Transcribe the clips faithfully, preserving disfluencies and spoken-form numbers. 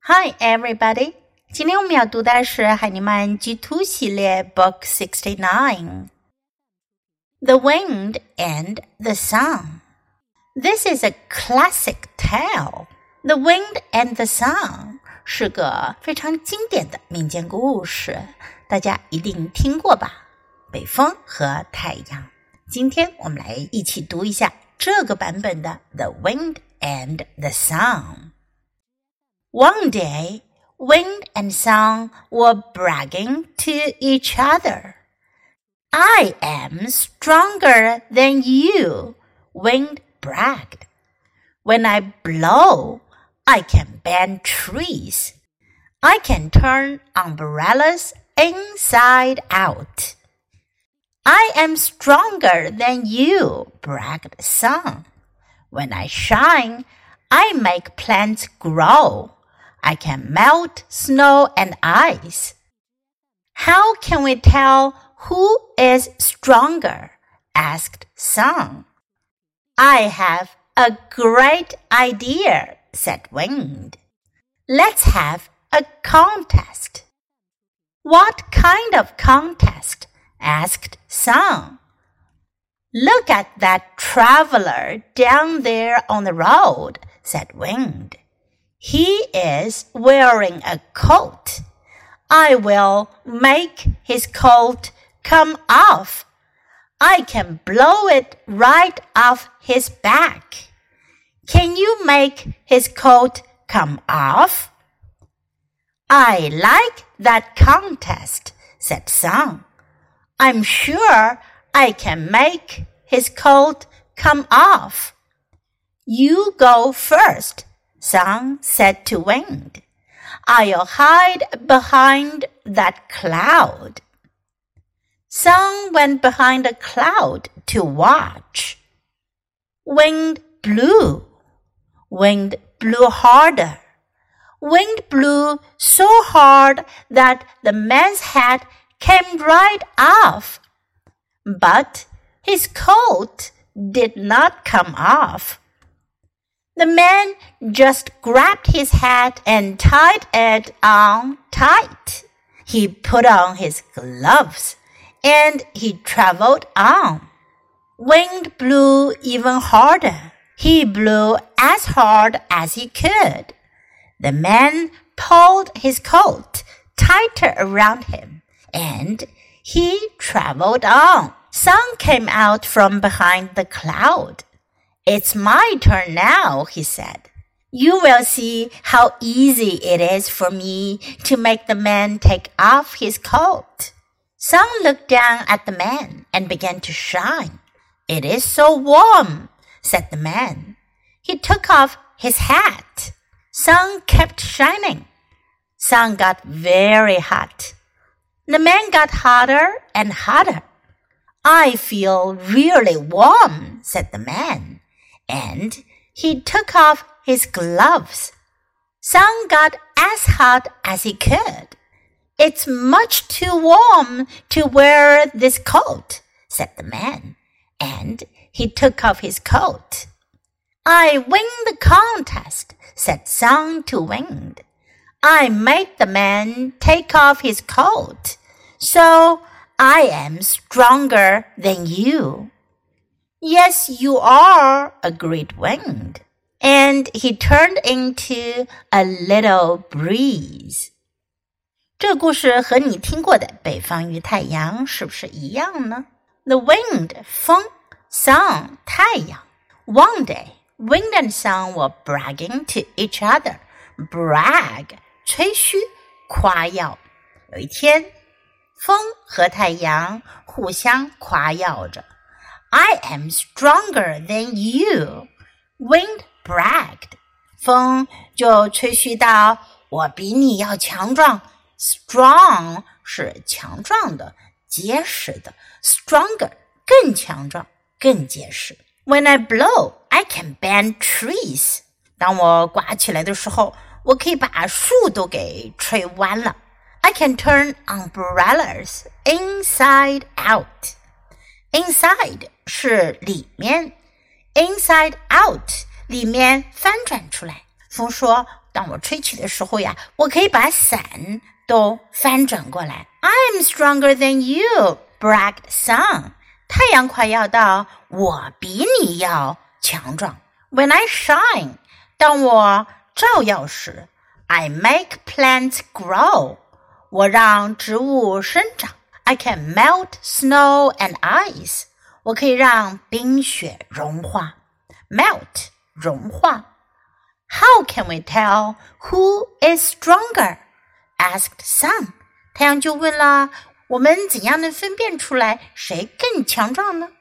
Hi everybody! 今天我们要读的是海尼曼 G 二 系列 Book sixty-nine The Wind and the Sun. This is a classic tale. The Wind and the Sun 是个非常经典的民间故事，大家一定听过吧？北风和太阳。今天我们来一起读一下这个版本的 The Wind and the Sun.One day, Wind and Sun were bragging to each other. I am stronger than you, Wind bragged. When I blow, I can bend trees. I can turn umbrellas inside out. I am stronger than you, bragged Sun. When I shine, I make plants grow.I can melt snow and ice. How can we tell who is stronger? Asked Sun. I have a great idea, said Wind. Let's have a contest. What kind of contest? Asked Sun. Look at that traveler down there on the road, said Wind.He is wearing a coat. I will make his coat come off. I can blow it right off his back. Can you make his coat come off? I like that contest, said Sun. I'm sure I can make his coat come off. You go first.Sun said to Wind, I'll hide behind that cloud. Sun went behind a cloud to watch. Wind blew. Wind blew harder. Wind blew so hard that the man's hat came right off. But his coat did not come off.The man just grabbed his hat and tied it on tight. He put on his gloves and he traveled on. Wind blew even harder. He blew as hard as he could. The man pulled his coat tighter around him and he traveled on. Sun came out from behind the cloud.It's my turn now, he said. You will see how easy it is for me to make the man take off his coat. Sun looked down at the man and began to shine. It is so warm, said the man. He took off his hat. Sun kept shining. Sun got very hot. The man got hotter and hotter. I feel really warm, said the man.And he took off his gloves. Sun got as hot as he could. It's much too warm to wear this coat, said the man, and he took off his coat. I win the contest, said Sun to Wind. I made the man take off his coat, so I am stronger than you.Yes, you are, agreed Wind. And he turned into a little breeze. 这个故事和你听过的北方与太阳是不是一样呢？ The wind, 风 Sun, 太阳 One day, Wind and Sun were bragging to each other. Brag, 吹嘘夸耀有一天，风和太阳互相夸耀着I am stronger than you, Wind bragged. 风就吹嘘道，我比你要强壮。Strong 是强壮的、结实的 ，stronger 更强壮、更结实。When I blow, I can bend trees. 当我刮起来的时候，我可以把树都给吹弯了。I can turn umbrellas inside out.Inside 是里面 ，inside out 里面翻转出来。风说当我吹起的时候呀，我可以把伞都翻转过来。I'm stronger than you, bragged Sun. 太阳夸耀道，我比你要强壮。When I shine, 当我照耀时 I make plants grow. 我让植物生长。I can melt snow and ice. 我可以让冰雪融化。Melt, 融化。How can we tell who is stronger? Asked Sun. 太阳就问了，我们怎样能分辨出来谁更强壮呢？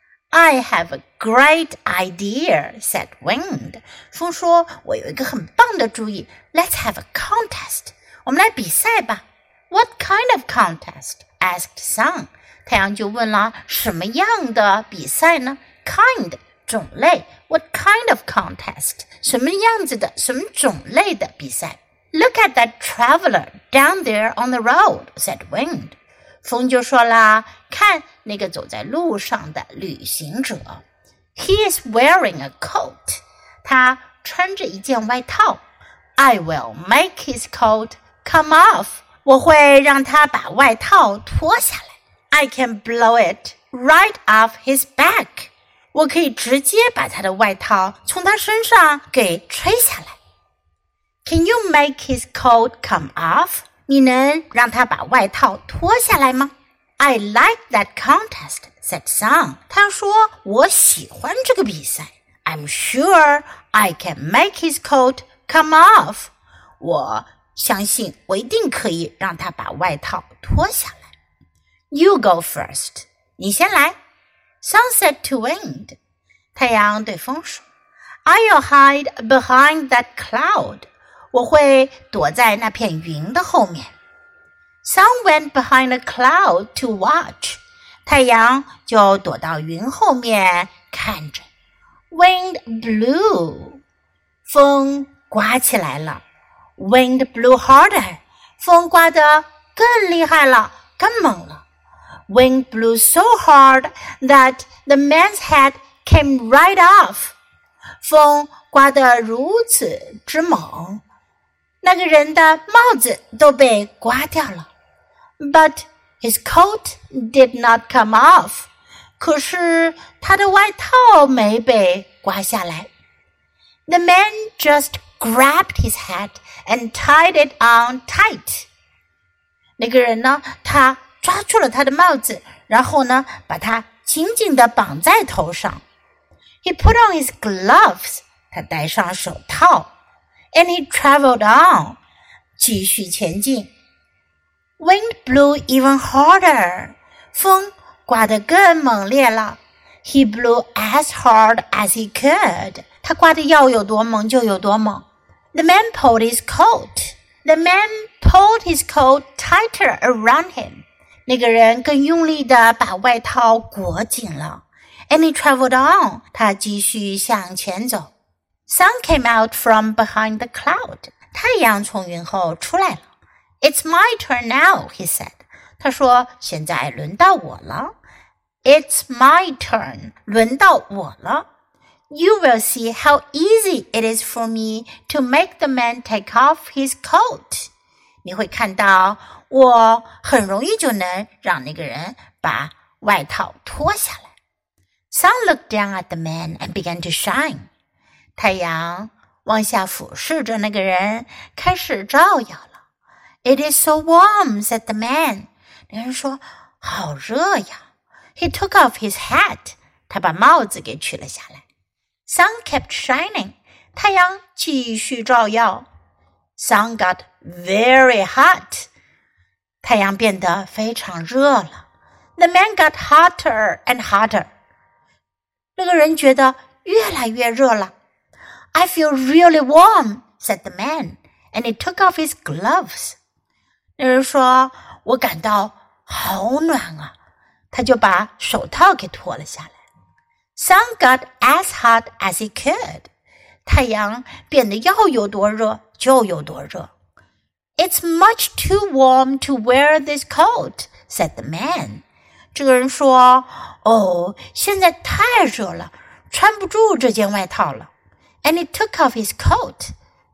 I have a great idea, said Wind. 风说，我有一个很棒的主意。Let's have a contest. 我们来比赛吧。What kind of contest? Asked Sun. 太阳就问了，什么样的比赛呢？ Kind, 种类。What kind of contest? 什么样子的，什么种类的比赛？ Look at that traveler down there on the road, said Wind. 风就说啦，看那个走在路上的旅行者。He is wearing a coat. 他穿着一件外套。I will make his coat come off. 我会让他把外套脱下来。I can blow it right off his back. 我可以直接把他的外套从他身上给吹下来。Can you make his coat come off? 你能让他把外套脱下来吗？ I like that contest, said Sun. 他说，我喜欢这个比赛。I'm sure I can make his coat come off. 我相信我一定可以让他把外套脱下来。You go first. 你先来。Sun said to Wind. 太阳对风说， I'll hide behind that cloud. 我会躲在那片云的后面。Sun went behind a cloud to watch. 太阳就躲到云后面看着。Wind blew. 风刮起来了。Wind blew harder. 风刮得更厉害了，更猛了。Wind blew so hard that the man's head came right off. 风刮得如此之猛，那个人的帽子都被刮掉了。But his coat did not come off. 可是他的外套没被刮下来。The man just grabbed his hat and tied it on tight. 那个人呢，他抓住了他的帽子，然后呢，把它紧紧地绑在头上。He put on his gloves. 他戴上手套。And he traveled on. 继续前进。Wind blew even harder. 风刮得更猛烈了。He blew as hard as he could. 他刮得要有多猛就有多猛。The man pulled his coat. The man pulled his coat tighter around him. 那个人更用力地把外套裹紧了。And he traveled on. 他继续向前走。Sun came out from behind the cloud. 太阳从云后出来了。It's my turn now, he said. 他说，现在轮到我了。It's my turn. 轮到我了。You will see how easy it is for me to make the man take off his coat. 你会看到，我很容易就能让那个人把外套脱下来。Sun looked down at the man and began to shine. 太阳往下俯视着那个人，开始照耀了。It is so warm, said the man. 那个人说，好热呀。He took off his hat. 他把帽子给取了下来。Sun kept shining. 太阳继续照耀。Sun got very hot. 太阳变得非常热了。The man got hotter and hotter. 那个人觉得越来越热了。I feel really warm, said the man, and he took off his gloves. 那人说，我感到好暖啊，他就把手套给脱了下来。Sun got as hot as he could. 太阳变得要有多热就有多热。It's much too warm to wear this coat, said the man. 这个人说，哦，现在太热了，穿不住这件外套了。And he took off his coat.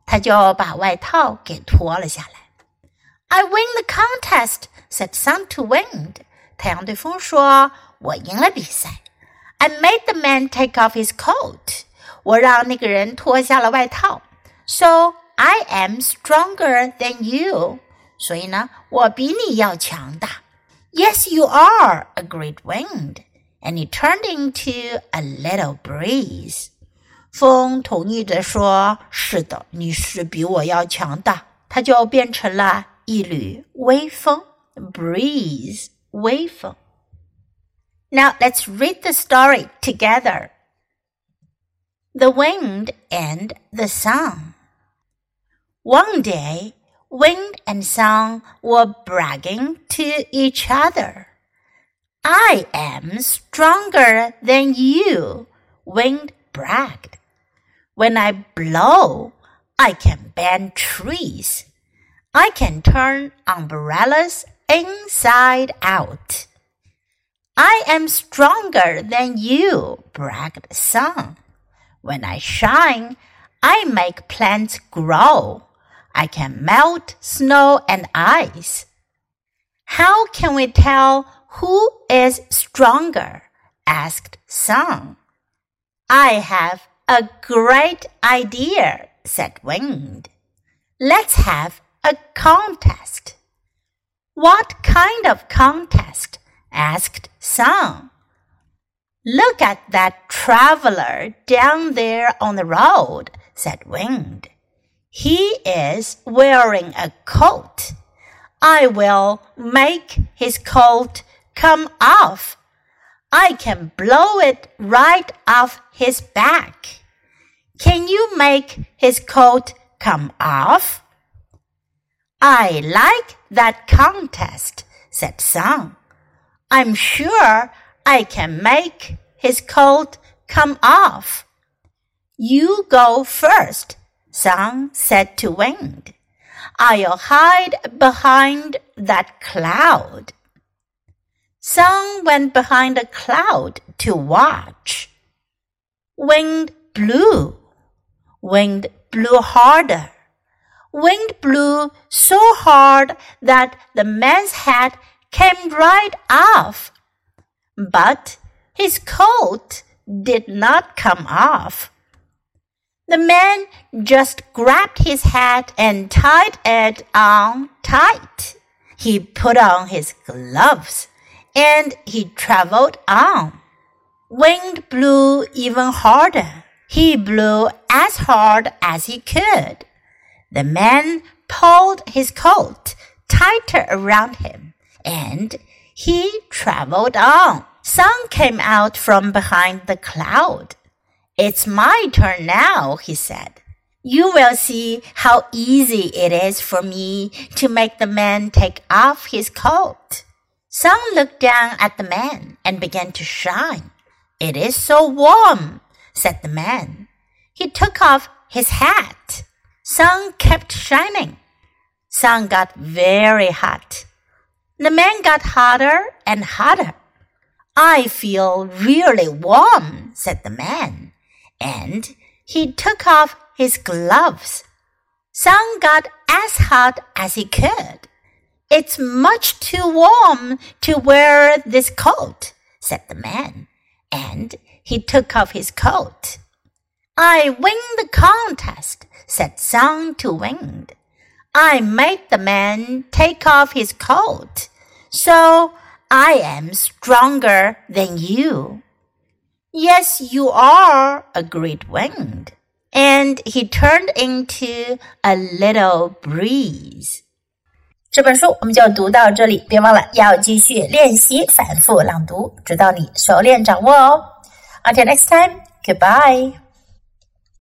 他就把外套给脱了下来。I win the contest, said Sun to Wind. 太阳对风说，我赢了比赛。I made the man take off his coat. 我让那个人脱下了外套。So I am stronger than you. 所以呢，我比你要强大。Yes, you are, agreed Wind. And he turned into a little breeze. 风同意着说，是的，你是比我要强大。它就变成了一缕微风 breeze 微风。Now let's read the story together. The Wind and the Sun. One day, Wind and Sun were bragging to each other. I am stronger than you, Wind bragged. When I blow, I can bend trees. I can turn umbrellas inside out. I am stronger than you, bragged Sun. When I shine, I make plants grow. I can melt snow and ice. How can we tell who is stronger? Asked Sun. I have a great idea, said Wind. Let's have a contest. What kind of contest? Asked Sun. Look at that traveler down there on the road, said Wind. He is wearing a coat. I will make his coat come off. I can blow it right off his back. Can you make his coat come off? I like that contest, said Sun. I'm sure I can make his coat come off. You go first, Sun said to Wind. I'll hide behind that cloud. Sun went behind a cloud to watch. Wind blew. Wind blew harder. Wind blew so hard that the man's hat came right off. But his coat did not come off. The man just grabbed his hat and tied it on tight. He put on his gloves, and he traveled on. Wind blew even harder. He blew as hard as he could. The man pulled his coat tighter around him, and he traveled on. Sun came out from behind the cloud. It's my turn now, he said. You will see how easy it is for me to make the man take off his coat. Sun looked down at the man and began to shine. It is so warm, said the man. He took off his hat. Sun kept shining. Sun got very hot. The man got hotter and hotter. I feel really warm, said the man, and he took off his gloves. Sun got as hot as he could. It's much too warm to wear this coat, said the man, and he took off his coat. I win the contest, said Sun to Wind. I made the man take off his coat, so I am stronger than you. Yes, you are, agreed Wind, and he turned into a little breeze. 这本书我们就读到这里，别忘了要继续练习反复朗读，直到你熟练掌握哦。Until next time, goodbye.